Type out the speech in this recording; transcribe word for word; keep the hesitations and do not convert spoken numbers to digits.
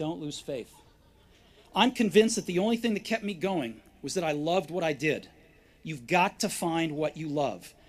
don't lose faith. I'm convinced that the only thing that kept me going was that I loved what I did. You've got to find what you love.